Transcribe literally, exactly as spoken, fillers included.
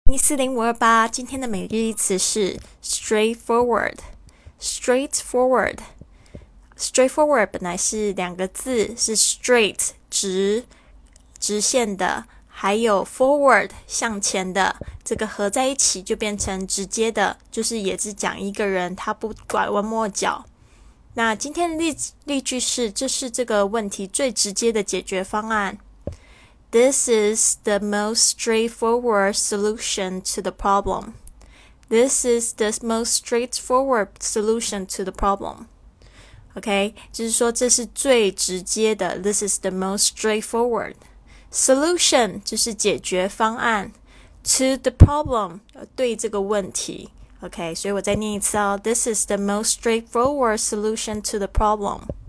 一四零五二八，今天的每日一词是 straightforward。straightforward，straightforward 本来是两个字，是 straight 直直线的，还有 forward 向前的，这个合在一起就变成直接的，就是也是讲一个人他不拐弯抹角。那今天的 例, 例句是，这是这个问题最直接的解决方案。This is the most straightforward solution to the problem. This is the most straightforward solution to the problem. OK， 就是说这是最直接的。This is the most straightforward. Solution 就是解决方案。To the problem 对这个问题。OK， 所以我再念一次哦。This is the most straightforward solution to the problem.